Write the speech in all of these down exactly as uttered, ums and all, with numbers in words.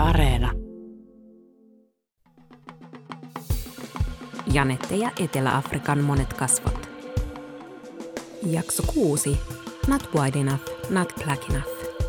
Areena. Janette ja Etelä-Afrikan monet kasvot. Jakso kuusi. Not wide enough, not black enough.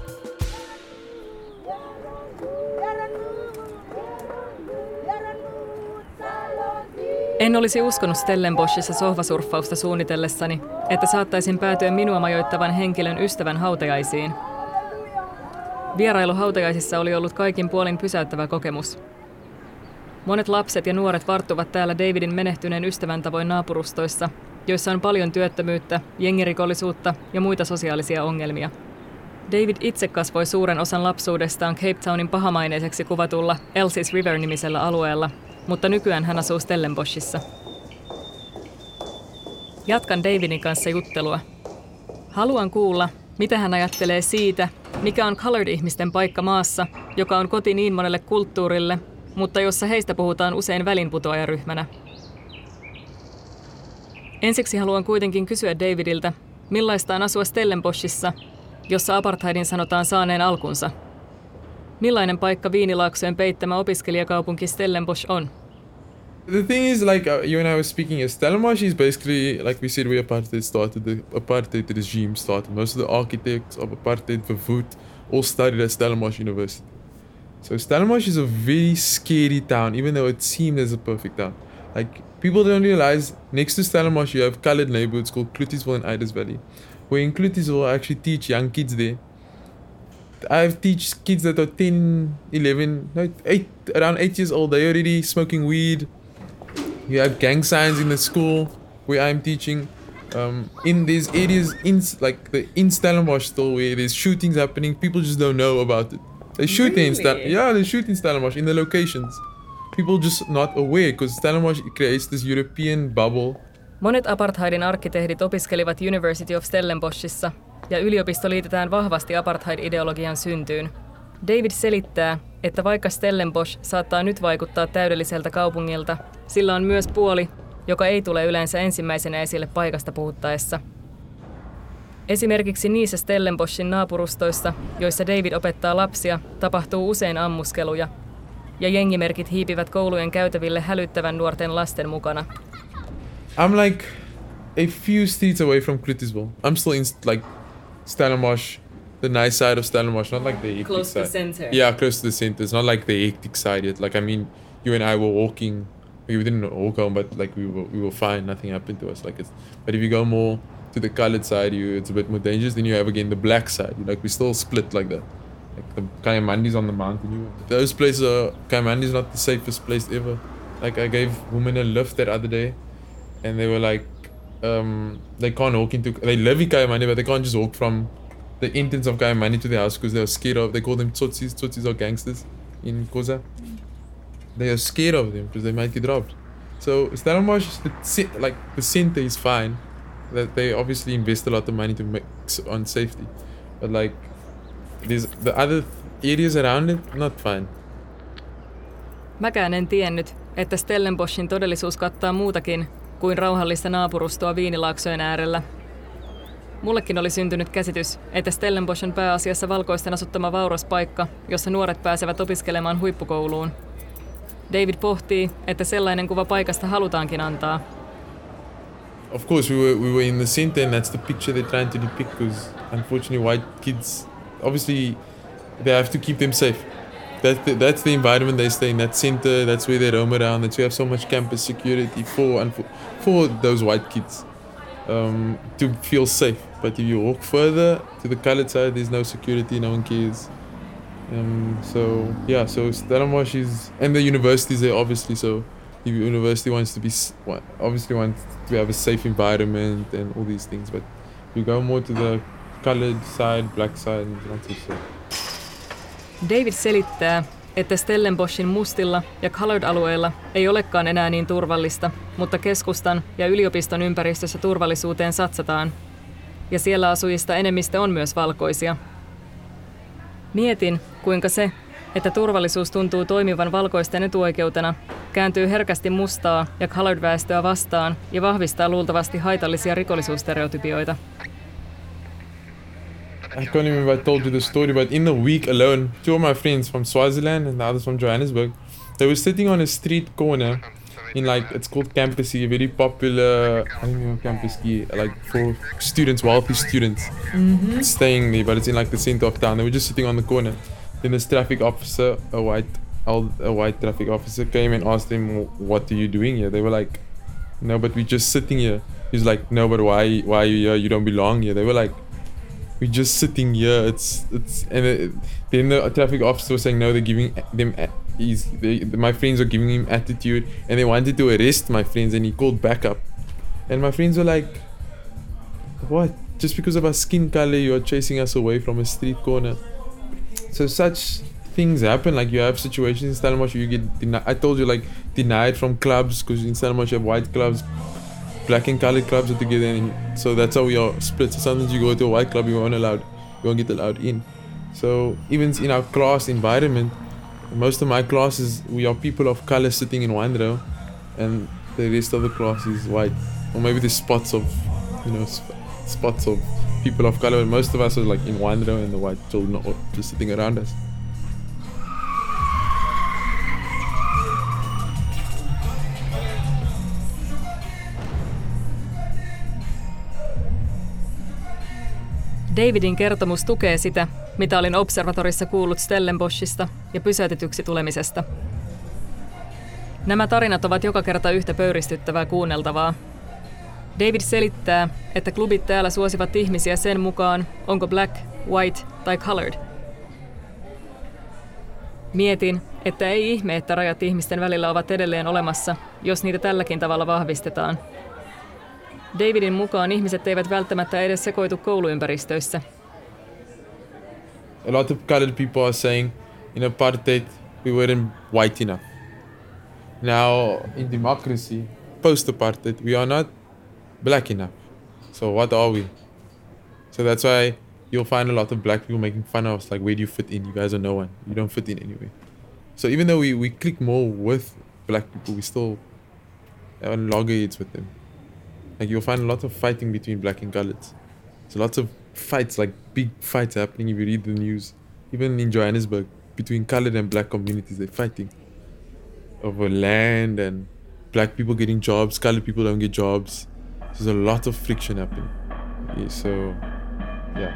En olisi uskonut Stellenboschissa sohvasurffausta suunnitellessani, että saattaisin päätyä minua majoittavan henkilön ystävän hautajaisiin. Vierailu hautajaisissa oli ollut kaikin puolin pysäyttävä kokemus. Monet lapset ja nuoret varttuvat täällä Davidin menehtyneen ystävän tavoin naapurustoissa, joissa on paljon työttömyyttä, jengirikollisuutta ja muita sosiaalisia ongelmia. David itse kasvoi suuren osan lapsuudestaan Cape Townin pahamaineiseksi kuvatulla Elsie's River-nimisellä alueella, mutta nykyään hän asuu Stellenboschissa. Jatkan Davidin kanssa juttelua. Haluan kuulla, mitä hän ajattelee siitä, mikä on colored-ihmisten paikka maassa, joka on koti niin monelle kulttuurille, mutta jossa heistä puhutaan usein välinputoajaryhmänä. Ensiksi haluan kuitenkin kysyä Davidiltä, millaista on asua Stellenboschissa, jossa apartheidin sanotaan saaneen alkunsa. Millainen paikka Viinilaaksojen peittämä opiskelijakaupunki Stellenbosch on? The thing is, like uh, you and I were speaking, Stellenbosch is basically, like we said, where apartheid started. The apartheid regime started. Most of the architects of apartheid for food all studied at Stellenbosch University. So Stellenbosch is a very scary town, even though it seemed as a perfect town. Like people don't realize, next to Stellenbosch you have colored neighborhoods called Clutisville and Iders Valley, where in Clutisville I actually teach young kids there. I teach kids that are ten, eleven, no, eight, around eight years old. They're already smoking weed. You have gang signs in the school where I'm teaching. Um, in these areas, in like the in Stellenbosch still, where there's shootings happening, people just don't know about it. They shoot really? in Stel- yeah, they shoot in Stellenbosch in the locations. People just not aware because Stellenbosch creates this European bubble. Monet apartheidin arkkitehdit opiskelivat University of Stellenboschissa, ja yliopisto liitetään vahvasti apartheid-ideologian syntyyn. David selittää, että vaikka Stellenbosch saattaa nyt vaikuttaa täydelliseltä kaupungilta, sillä on myös puoli, joka ei tule yleensä ensimmäisenä esille paikasta puhuttaessa. Esimerkiksi niissä Stellenboschin naapurustoissa, joissa David opettaa lapsia, tapahtuu usein ammuskeluja, ja jengimerkit hiipivät koulujen käytäville hälyttävän nuorten lasten mukana. I'm like a few streets away from Clutisville. I'm still in like Stellenbosch, the nice side of Stellenbosch, not like the hectic close side. to the center. Yeah, close to the center. It's not like the hectic side yet. Like I mean, you and I were walking. We didn't walk home, but like we were, we were fine. Nothing happened to us. Like it's. But if you go more to the colored side, you it's a bit more dangerous. Then you have again the black side. Like we still split like that. Like the Kayamandis on the mountain. You, those places are Kayamandi is not the safest place ever. Like I gave women a lift that other day, and they were like, um, they can't walk into. They live in Kayamandi, but they can't just walk from the entrance of Kayamandi to the house because they are scared of. They call them tsotsis. Tsotsis are gangsters in Koza. They are scared of them because they might get robbed. So Stellenbosch, the, like the center is fine. That they obviously invest a lot of money to make on safety, but like there's the other areas around it not fine. Mäkään en tiennyt, että Stellenboschin todellisuus kattaa muutakin kuin rauhallista naapurustoa Viinilaaksojen äärellä. Mullekin oli syntynyt käsitys, että Stellenbosch on pääasiassa valkoisten asuttama vauras paikka, jossa nuoret pääsevät opiskelemaan huippukouluun. David pohtii, että sellainen kuva paikasta halutaankin antaa. Of course, we were we were in the center, and that's the picture they're trying to depict. Because unfortunately, white kids, obviously, they have to keep them safe. That's the, that's the environment they stay in. That center, that's where they roam around. That's where you have so much campus security for and for, for those white kids um, to feel safe. But if you walk further to the colored side, there's no security. No one cares. Um, so yeah, so Stellenbosch is, and the universities there obviously. So the university wants to be obviously wants to have a safe environment and all these things. But you go more to the colored side, black side, not so safe. David selittää, että Stellenboschin mustilla ja colored-alueilla ei olekaan enää niin turvallista, mutta keskustan ja yliopiston ympäristössä turvallisuuteen satsataan. Ja siellä asujista enemmistö on myös valkoisia. Mietin, kuinka se, että turvallisuus tuntuu toimivan valkoisten etuoikeutena, kääntyy herkästi mustaa ja colored-väestöä vastaan ja vahvistaa luultavasti haitallisia rikollisuusstereotypioita. I can't remember if I told you the story, but in the week alone, two of my friends from Swaziland and the others from Johannesburg, they were sitting on a street corner in like, it's called Campus, a very popular, I don't know, Campus, like for students, wealthy students, mm-hmm. staying there, but it's in like the center of town. They were just sitting on the corner. Then this traffic officer, a white, a white traffic officer came and asked them, what are you doing here? They were like, no, but we're just sitting here. He's like, no, but why, why are you here? You don't belong here. They were like, we're just sitting here. It's, it's, and it, then the traffic officer was saying, no, they're giving them, he's, they, my friends are giving him attitude, and they wanted to arrest my friends, and he called backup. And my friends were like, what? Just because of our skin color, you are chasing us away from a street corner. So such things happen. Like you have situations in Stellenbosch, you get denied. I told you, like, denied from clubs, because in Stellenbosch you have white clubs, black and colored clubs are together, and so that's how we are split. So sometimes you go to a white club, you won't allowed, you won't get allowed in. So even in our class environment, most of my classes, we are people of color sitting in one row, and the rest of the class is white. Or maybe there's spots of, you know, sp- spots of people of color, but most of us are like in one row, and the white children are just sitting around us. Davidin kertomus tukee sitä, mitä olin observatorissa kuullut Stellenboschista ja pysäytetyksi tulemisesta. Nämä tarinat ovat joka kerta yhtä pöyristyttävää kuunneltavaa. David selittää, että klubit täällä suosivat ihmisiä sen mukaan, onko black, white tai colored. Mietin, että ei ihme, että rajat ihmisten välillä ovat edelleen olemassa, jos niitä tälläkin tavalla vahvistetaan. Davidin mukaan ihmiset eivät välttämättä edes sekoitu kouluympäristöissä. A lot of colored people are saying in apartheid we weren't white enough. Now in democracy, post-apartheid, we are not black enough. So what are we? So that's why you'll find a lot of black people making fun of us, like, where do you fit in? You guys are no one. You don't fit in anyway. So even though we, we click more with black people, we still have loggerheads with them. Like you'll find a lot of fighting between black and coloreds. There's lots of fights, like big fights happening if you read the news. Even in Johannesburg, between colored and black communities, they're fighting over land and black people getting jobs, colored people don't get jobs. There's a lot of friction happening. Yeah, so, yeah.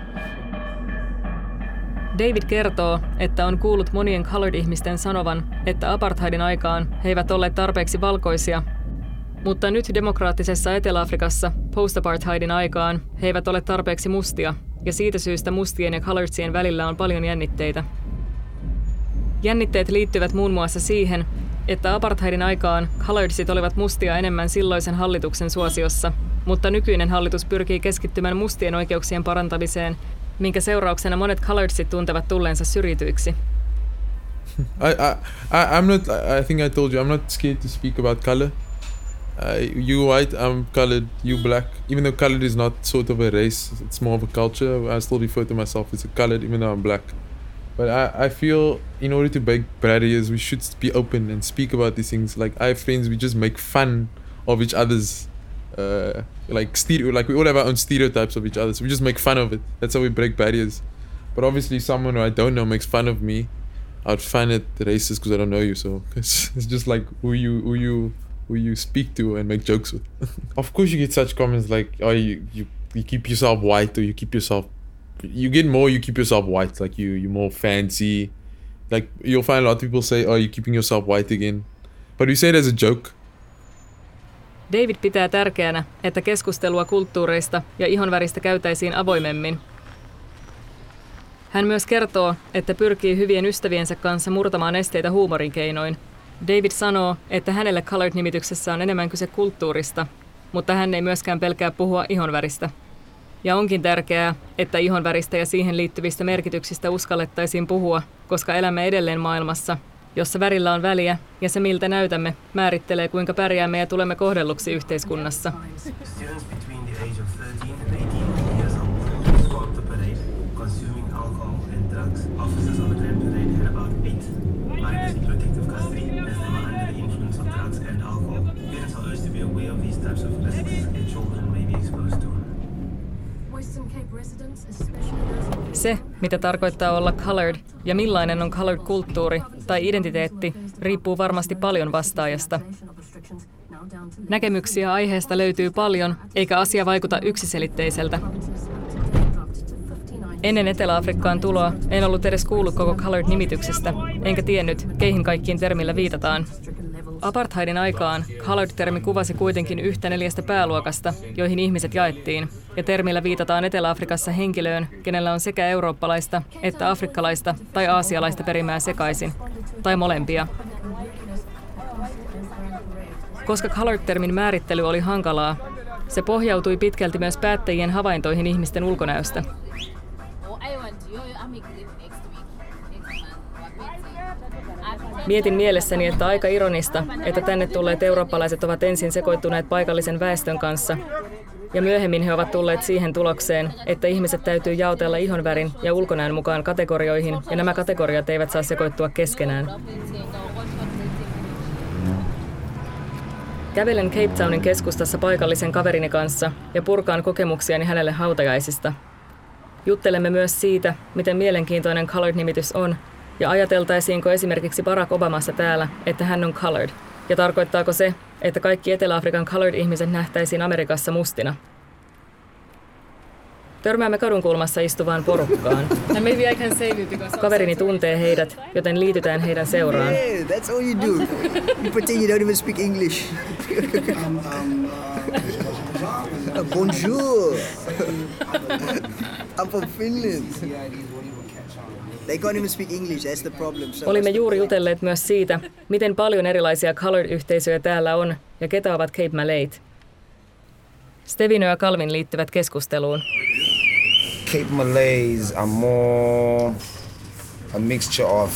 David kertoo, että on kuullut monien colored-ihmisten sanovan, että apartheidin aikaan he eivät olleet tarpeeksi valkoisia, mutta nyt demokraattisessa Etelä-Afrikassa post-apartheidin aikaan he eivät ole tarpeeksi mustia, ja siitä syystä mustien ja coloredsien välillä on paljon jännitteitä. Jännitteet liittyvät muun muassa siihen, että apartheidin aikaan coloredsit olivat mustia enemmän silloisen hallituksen suosiossa, mutta nykyinen hallitus pyrkii keskittymään mustien oikeuksien parantamiseen, minkä seurauksena monet coloredsit tuntevat tulleensa syrjityiksi. I, I, I, I'm not, I think I told you, I'm not scared to speak about color. Uh, you white, I'm colored, you black. Even though colored is not sort of a race, it's more of a culture. I still refer to myself as a colored, even though I'm black. But I, I feel in order to break barriers, we should be open and speak about these things. Like I have friends, we just make fun of each other's, uh, like stereo, like we all have our own stereotypes of each other. So we just make fun of it. That's how we break barriers. But obviously, someone who I don't know makes fun of me, I'd find it racist because I don't know you. So it's, it's just like who you, who you. who you speak to and make jokes with. Of course you get such comments like, oh, you, you you keep yourself white, or you keep yourself, you get more, you keep yourself white, like you, you're more fancy. Like you'll find a lot of people say, oh, you're keeping yourself white again. But we say it as a joke. David pitää tärkeänä, että keskustelua kulttuureista ja ihonväristä käytäisiin avoimemmin. Hän myös kertoo, että pyrkii hyvien ystäviensä kanssa murtamaan esteitä huumorin keinoin. David sanoo, että hänelle colored-nimityksessä on enemmän kyse kulttuurista, mutta hän ei myöskään pelkää puhua ihonväristä. Ja onkin tärkeää, että ihonväristä ja siihen liittyvistä merkityksistä uskallettaisiin puhua, koska elämme edelleen maailmassa, jossa värillä on väliä ja se miltä näytämme määrittelee kuinka pärjäämme ja tulemme kohdelluksi yhteiskunnassa. Se, mitä tarkoittaa olla colored ja millainen on colored-kulttuuri tai identiteetti, riippuu varmasti paljon vastaajasta. Näkemyksiä aiheesta löytyy paljon, eikä asia vaikuta yksiselitteiseltä. Ennen Etelä-Afrikkaan tuloa en ollut edes kuullut koko colored-nimityksestä, enkä tiennyt, keihin kaikkiin termillä viitataan. Apartheidin aikaan colored-termi kuvasi kuitenkin yhtä neljästä pääluokasta, joihin ihmiset jaettiin, ja termillä viitataan Etelä-Afrikassa henkilöön, kenellä on sekä eurooppalaista että afrikkalaista tai aasialaista perimää sekaisin, tai molempia. Koska colored-termin määrittely oli hankalaa, se pohjautui pitkälti myös päättäjien havaintoihin ihmisten ulkonäöstä. Mietin mielessäni, että aika ironista, että tänne tulleet eurooppalaiset ovat ensin sekoittuneet paikallisen väestön kanssa, ja myöhemmin he ovat tulleet siihen tulokseen, että ihmiset täytyy jaotella ihonvärin ja ulkonäön mukaan kategorioihin, ja nämä kategoriat eivät saa sekoittua keskenään. Kävelen Cape Townin keskustassa paikallisen kaverini kanssa ja purkaan kokemuksiani hänelle hautajaisista. Juttelemme myös siitä, miten mielenkiintoinen colored-nimitys on, ja ajateltaisiinko esimerkiksi Barack Obamassa täällä, että hän on colored, ja tarkoittaako se, että kaikki Etelä-Afrikan colored-ihmiset nähtäisiin Amerikassa mustina. Törmäämme kadunkulmassa istuvaan porukkaan. Kaverini tuntee heidät, joten liitytään heidän seuraan. Yeah, that's all you do. You pretend you don't even speak English. Bonjour. I'm from Finland. They can't even speak English, that's the problem. So Olimme juuri jutelleet myös siitä, miten paljon erilaisia colored-yhteisöjä täällä on ja ketä ovat Cape Malayt. Stevino ja Calvin liittyvät keskusteluun. Cape Malays are more a mixture of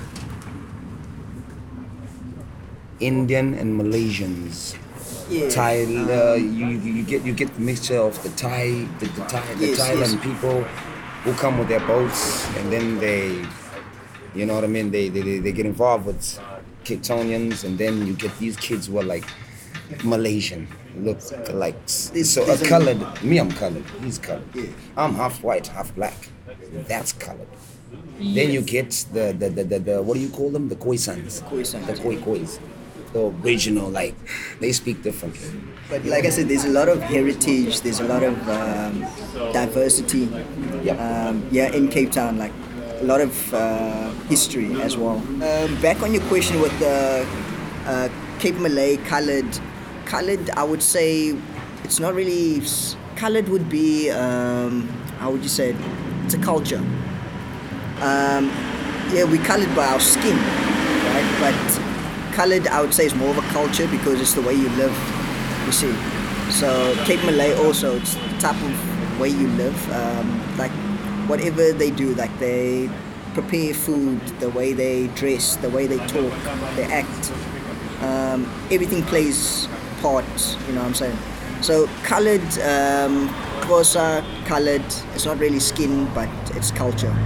Indian and Malaysians. Yeah. Thai, uh, you, you get you get the mixture of the Thai, the, the Thai, the Yes, Thailand yes. people who come with their boats, and then they, you know what I mean, they they, they get involved with Cape Townians, and then you get these kids who are like Malaysian, look like so a colored. Me, I'm colored. He's colored. Yeah. I'm half white, half black. That's colored. Then you get the the, the the the what do you call them? The Khoisans. Khoisans, The Khoi Khois. The original, like they speak differently. But like I said, there's a lot of heritage, there's a lot of um, diversity. Yep. Um, yeah, in Cape Town, like a lot of uh, history as well. Um, back on your question with the uh, Cape Malay colored, colored, I would say it's not really colored. Would be um, how would you say it? It's a culture. Um, yeah, we colored by our skin, right? But colored, I would say, is more of a culture because it's the way you live. You see, so Cape Malay also, it's the type of way you live. Um, like whatever they do, like they prepare food, the way they dress, the way they talk, they act. Um, everything plays part. You know what I'm saying? So colored, um, Xhosa, colored. It's not really skin, but it's culture.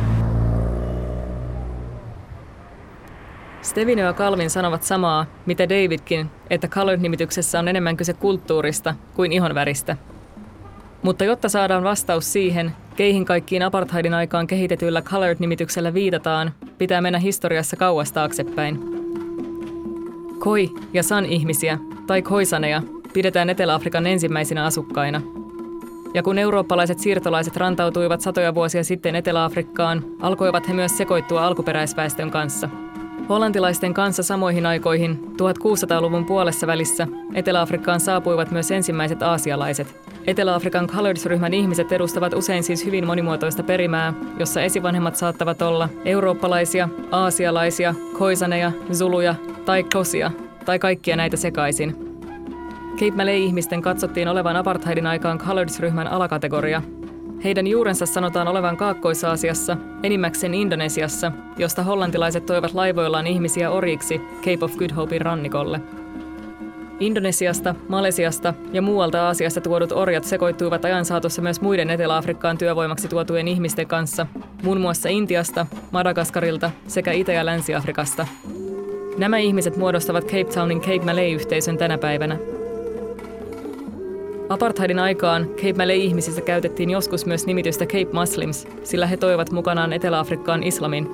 Stevino ja Calvin sanovat samaa, mitä Davidkin, että colored-nimityksessä on enemmän kyse kulttuurista kuin ihonväristä. Mutta jotta saadaan vastaus siihen, keihin kaikkiin apartheidin aikaan kehitetyllä colored-nimityksellä viitataan, pitää mennä historiassa kauas taaksepäin. Khoi- ja San-ihmisiä, tai khoisaneja, pidetään Etelä-Afrikan ensimmäisinä asukkaina. Ja kun eurooppalaiset siirtolaiset rantautuivat satoja vuosia sitten Etelä-Afrikkaan, alkoivat he myös sekoittua alkuperäisväestön kanssa. Hollantilaisten kanssa samoihin aikoihin, tuhatkuusisataaluvun puolessa välissä, Etelä-Afrikkaan saapuivat myös ensimmäiset aasialaiset. Etelä-Afrikan Coloreds-ryhmän ihmiset edustavat usein siis hyvin monimuotoista perimää, jossa esivanhemmat saattavat olla eurooppalaisia, aasialaisia, khoisaneja, zuluja tai xosia, tai kaikkia näitä sekaisin. Cape Malay-ihmisten katsottiin olevan apartheidin aikaan Coloreds-ryhmän alakategoria. Heidän juurensa sanotaan olevan Kaakkois-Aasiassa, enimmäkseen Indonesiassa, josta hollantilaiset toivat laivoillaan ihmisiä orjiksi Cape of Good Hopein rannikolle. Indonesiasta, Malesiasta ja muualta Aasiasta tuodut orjat sekoittuivat ajan saatossa myös muiden Etelä-Afrikkaan työvoimaksi tuotujen ihmisten kanssa, muun muassa Intiasta, Madagaskarilta sekä Itä- ja Länsi-Afrikasta. Nämä ihmiset muodostavat Cape Townin Cape Malay-yhteisön tänä päivänä. Apartheidin aikaan Cape Malay-ihmisissä käytettiin joskus myös nimitystä Cape Muslims, sillä he toivat mukanaan Etelä-Afrikkaan islamin.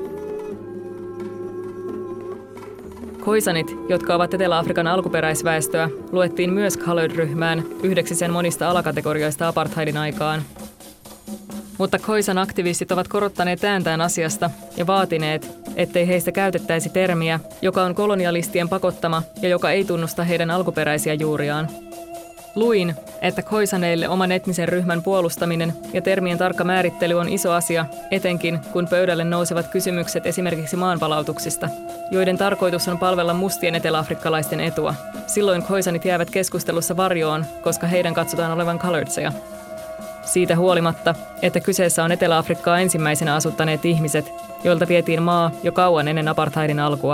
Khoisanit, jotka ovat Etelä-Afrikan alkuperäisväestöä, luettiin myös colored-ryhmään yhdeksi sen monista alakategorioista apartheidin aikaan. Mutta Khoisan-aktivistit ovat korottaneet ääntään asiasta ja vaatineet, ettei heistä käytettäisi termiä, joka on kolonialistien pakottama ja joka ei tunnusta heidän alkuperäisiä juuriaan. Luin, että Khoisaneille oman etnisen ryhmän puolustaminen ja termien tarkka määrittely on iso asia, etenkin kun pöydälle nousevat kysymykset esimerkiksi maanpalautuksista, joiden tarkoitus on palvella mustien eteläafrikkalaisten etua. Silloin Khoisanit jäävät keskustelussa varjoon, koska heidän katsotaan olevan coloredseja. Siitä huolimatta, että kyseessä on Etelä-Afrikkaa ensimmäisenä asuttaneet ihmiset, joilta vietiin maa jo kauan ennen apartheidin alkua.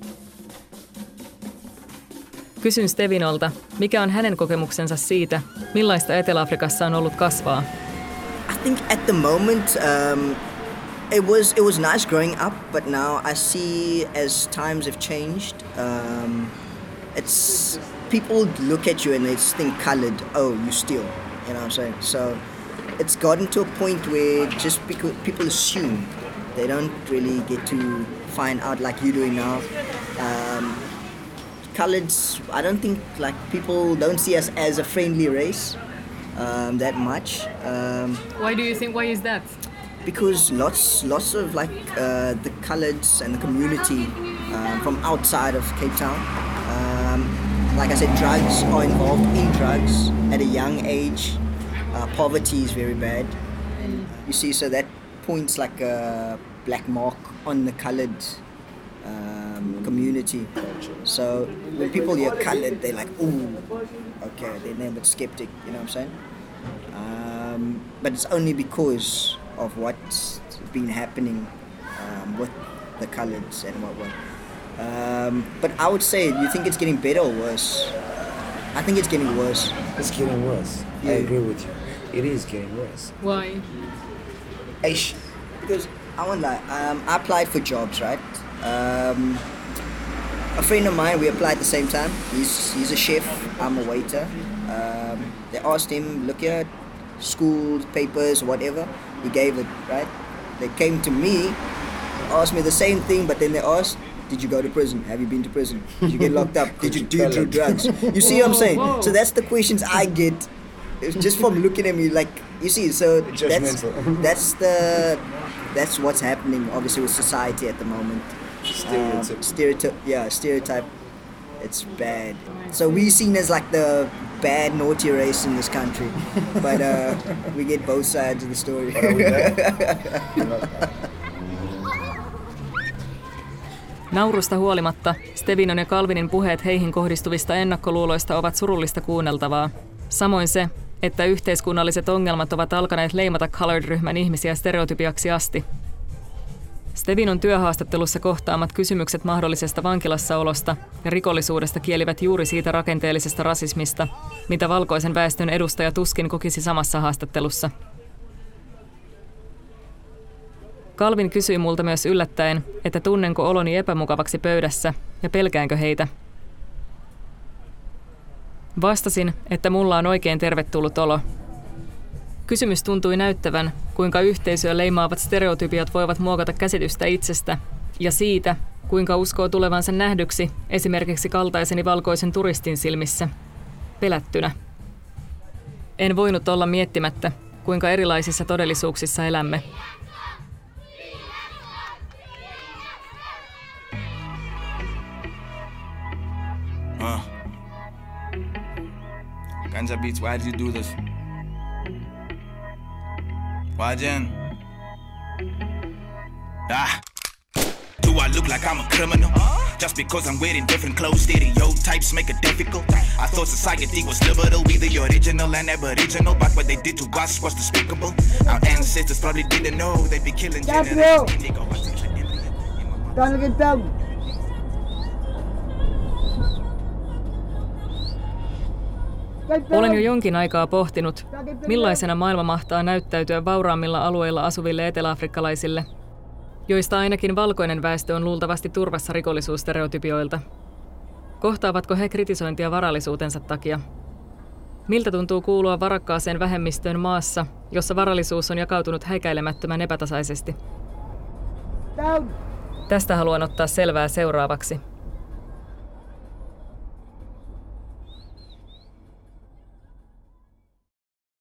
Kysyn Stevinolta, mikä on hänen kokemuksensa siitä, millaista Etelä-Afrikassa on ollut kasvaa. I think at the moment um, it was it was nice growing up, but now I see as times have changed, um, it's people look at you and they think colored. Oh, you steal. You know what I'm saying? So it's gotten to a point where just because people assume, they don't really get to find out like you're doing now. Um, Coloreds, I don't think like people don't see us as a friendly race um, that much. Um, Why do you think? Why is that? Because lots, lots of like uh, the coloreds and the community um, from outside of Cape Town. Um, like I said, drugs are involved in drugs at a young age. Uh, poverty is very bad. You see, so that points like a black mark on the colored um, community. So when people hear colored, they're like, ooh, okay, they're a bit skeptic, you know what I'm saying? Um, but it's only because of what's been happening um, with the coloreds and what what. Um, but I would say, you think it's getting better or worse? I think it's getting worse. It's getting worse. Yeah. I agree with you. It is getting worse. Why? Eish. Because I won't lie, um, I applied for jobs, right? Um, a friend of mine, we applied at the same time. He's he's a chef, I'm a waiter. Um, they asked him, look here, school, papers, whatever. He gave it, right? They came to me, asked me the same thing, but then they asked, did you go to prison? Have you been to prison? Did you get locked up? Did you do, do drugs? You see what I'm saying? Whoa. So that's the questions I get. It's just from looking at me, like, you see, so that's, Judgmental. that's the that's what's happening obviously with society at the moment. Stereotype. Um, stereotype, yeah, stereotype. It's bad. So we're seen as like the bad, naughty race in this country, but uh, we get both sides of the story. But are we bad? We're not bad. Naurusta huolimatta Stevinon ja Calvinin puheet heihin kohdistuvista ennakkoluuloista ovat surullista kuunneltavaa. Samoin se, että yhteiskunnalliset ongelmat ovat alkaneet leimata colored-ryhmän ihmisiä stereotypiaksi asti. Stevinon työhaastattelussa kohtaamat kysymykset mahdollisesta vankilassaolosta ja rikollisuudesta kielivät juuri siitä rakenteellisesta rasismista, mitä valkoisen väestön edustaja tuskin kokisi samassa haastattelussa. Calvin kysyi multa myös yllättäen, että tunnenko oloni epämukavaksi pöydässä ja pelkäänkö heitä. Vastasin, että mulla on oikein tervetullut olo. Kysymys tuntui näyttävän, kuinka yhteisöä leimaavat stereotypiat voivat muokata käsitystä itsestä ja siitä, kuinka uskoo tulevansa nähdyksi esimerkiksi kaltaiseni valkoisen turistin silmissä, pelättynä. En voinut olla miettimättä, kuinka erilaisissa todellisuuksissa elämme. Uh. Ganja Beats, why did you do this? Why, Jen? Ah. Do I look like I'm a criminal? Just because I'm wearing different clothes, stereotypes make it difficult. I thought society was liberal, we the original and aboriginal, but what they did to us was despicable. Our ancestors probably didn't know they'd be killing generations. Olen jo jonkin aikaa pohtinut, millaisena maailma mahtaa näyttäytyä vauraammilla alueilla asuville eteläafrikkalaisille, joista ainakin valkoinen väestö on luultavasti turvassa rikollisuusstereotypioilta. Kohtaavatko he kritisointia varallisuutensa takia? Miltä tuntuu kuulua varakkaaseen vähemmistöön maassa, jossa varallisuus on jakautunut häikäilemättömän epätasaisesti? Tästä haluan ottaa selvää seuraavaksi.